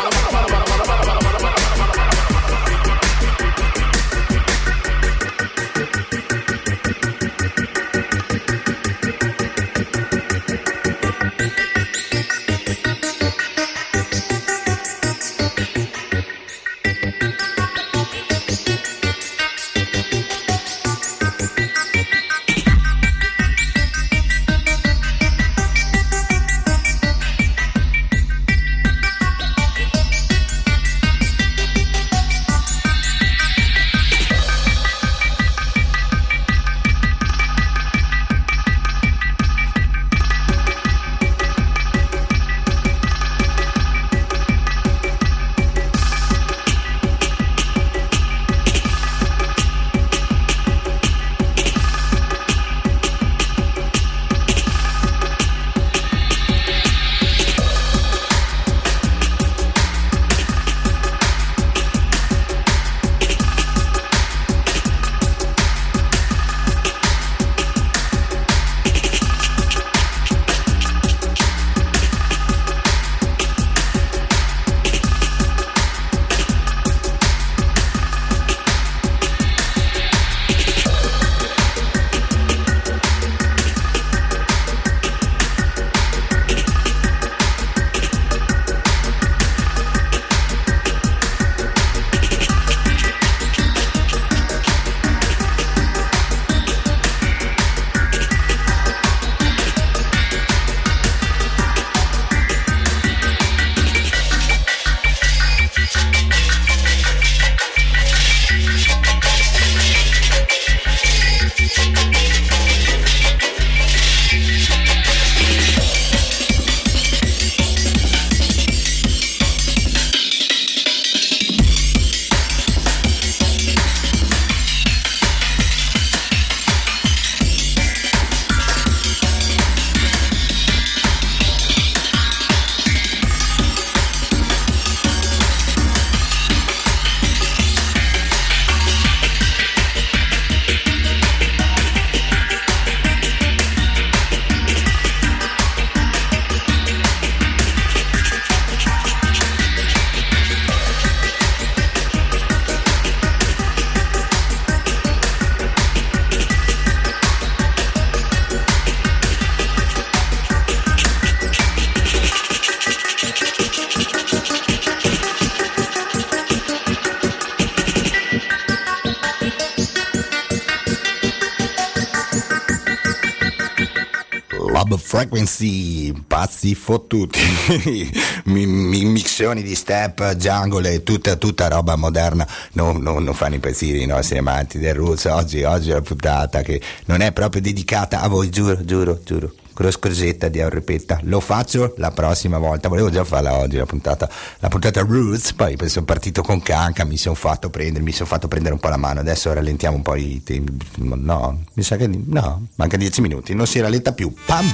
Club Frequency, pazzi fottuti, mi, mi, mixioni di step, jungle e tutta, tutta roba moderna, non, non, non fanno impazzire i nostri amanti del roots. Oggi, oggi è una puntata che non è proprio dedicata a voi, giuro, giuro, giuro. Con la scosetta di Ripetta, lo faccio la prossima volta, volevo già farla oggi la puntata, la puntata Roots, poi sono partito con Canca, mi sono fatto prendere, mi sono fatto prendere un po' la mano, adesso rallentiamo un po' i tempi, no, mi sa che no, manca dieci minuti, non si rallenta più, pam!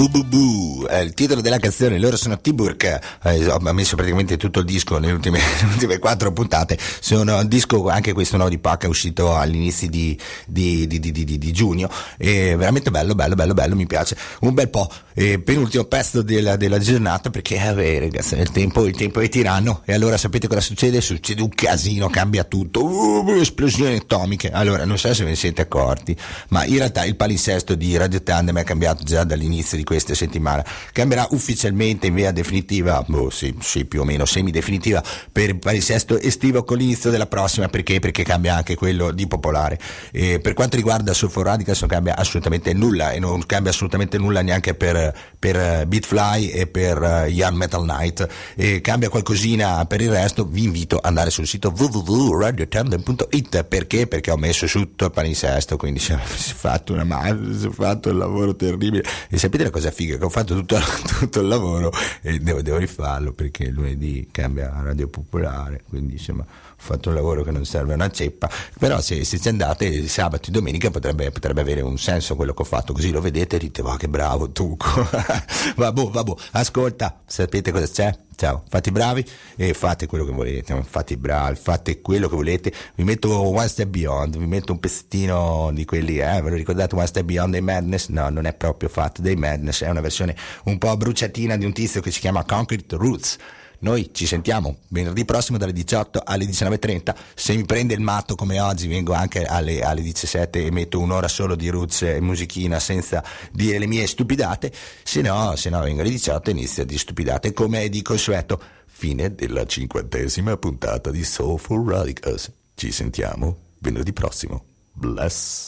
Bu Bu Bu è il titolo della canzone. Loro sono T-Burk, eh, ho messo praticamente tutto il disco nelle ultime, nelle ultime quattro puntate. Sono un disco, anche questo nuovo di Pac, è uscito all'inizio di, di, di, di, di, di giugno, e veramente bello, bello, bello, bello, mi piace un bel po'. E penultimo pezzo della, della giornata, perché eh, ragazzi, il tempo, il tempo è tiranno, e allora sapete cosa succede? Succede un casino, cambia tutto, uh, esplosioni atomiche. Allora, non so se ve ne siete accorti, ma in realtà il palinsesto di Radio Tandem è cambiato già dall'inizio di questa settimana. Cambierà ufficialmente in via definitiva, boh, sì, sì, più o meno semi-definitiva, per il palinsesto estivo con l'inizio della prossima. Perché? Perché cambia anche quello di Popolare. E per quanto riguarda Sulfur Radicals non cambia assolutamente nulla, e non cambia assolutamente nulla neanche per per Beatfly e per uh, Young Metal Night, e cambia qualcosina per il resto. Vi invito ad andare sul sito w w w punto radio tandem punto i t. Perché? Perché ho messo tutto il palinsesto, quindi si è fatto una mano, si è fatto un lavoro terribile. E sapete la cosa figa? Che ho fatto tutto, tutto il lavoro e devo, devo rifarlo, perché lunedì cambia Radio Popolare, quindi insomma ho fatto un lavoro che non serve a una ceppa. Però se, se ci andate sabato e domenica potrebbe, potrebbe avere un senso quello che ho fatto, così lo vedete e dite va, che bravo Tuco. Vabbè, vabbè, ascolta, sapete cosa c'è? Ciao, fate i bravi e fate quello che volete, fate i bravi, fate quello che volete. Vi metto One Step Beyond, vi metto un pezzettino di quelli, eh, ve lo ricordate One Step Beyond dei Madness? No, non è proprio fatto dei Madness, è una versione un po' bruciatina di un tizio che si chiama Concrete Roots. Noi ci sentiamo venerdì prossimo dalle diciotto alle diciannove e trenta. Se mi prende il matto come oggi vengo anche alle, alle diciassette e metto un'ora solo di roots e musichina senza dire le mie stupidate. Se no, se no vengo alle diciotto e inizio di stupidate come di consueto. Fine della cinquantesima puntata di Soulful Radicals. Ci sentiamo venerdì prossimo. Bless.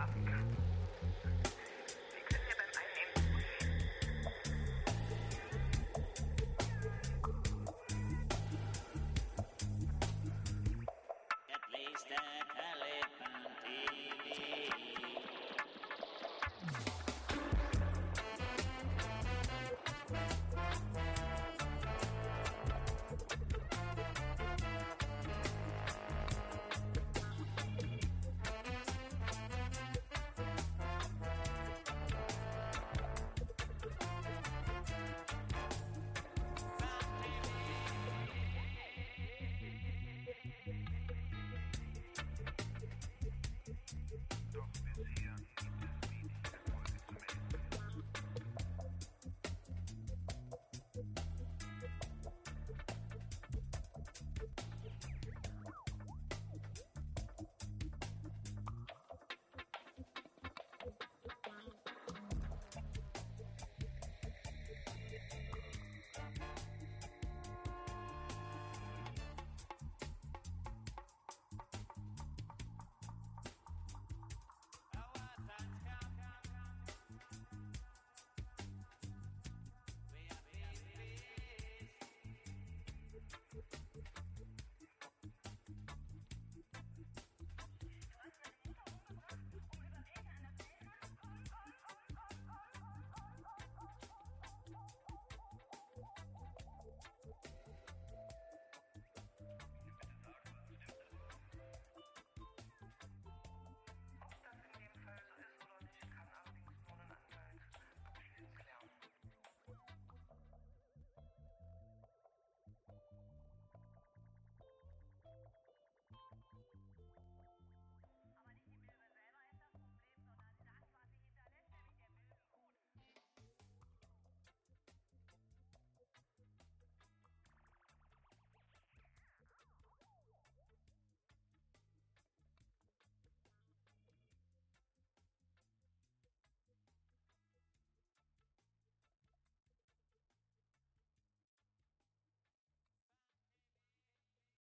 rock.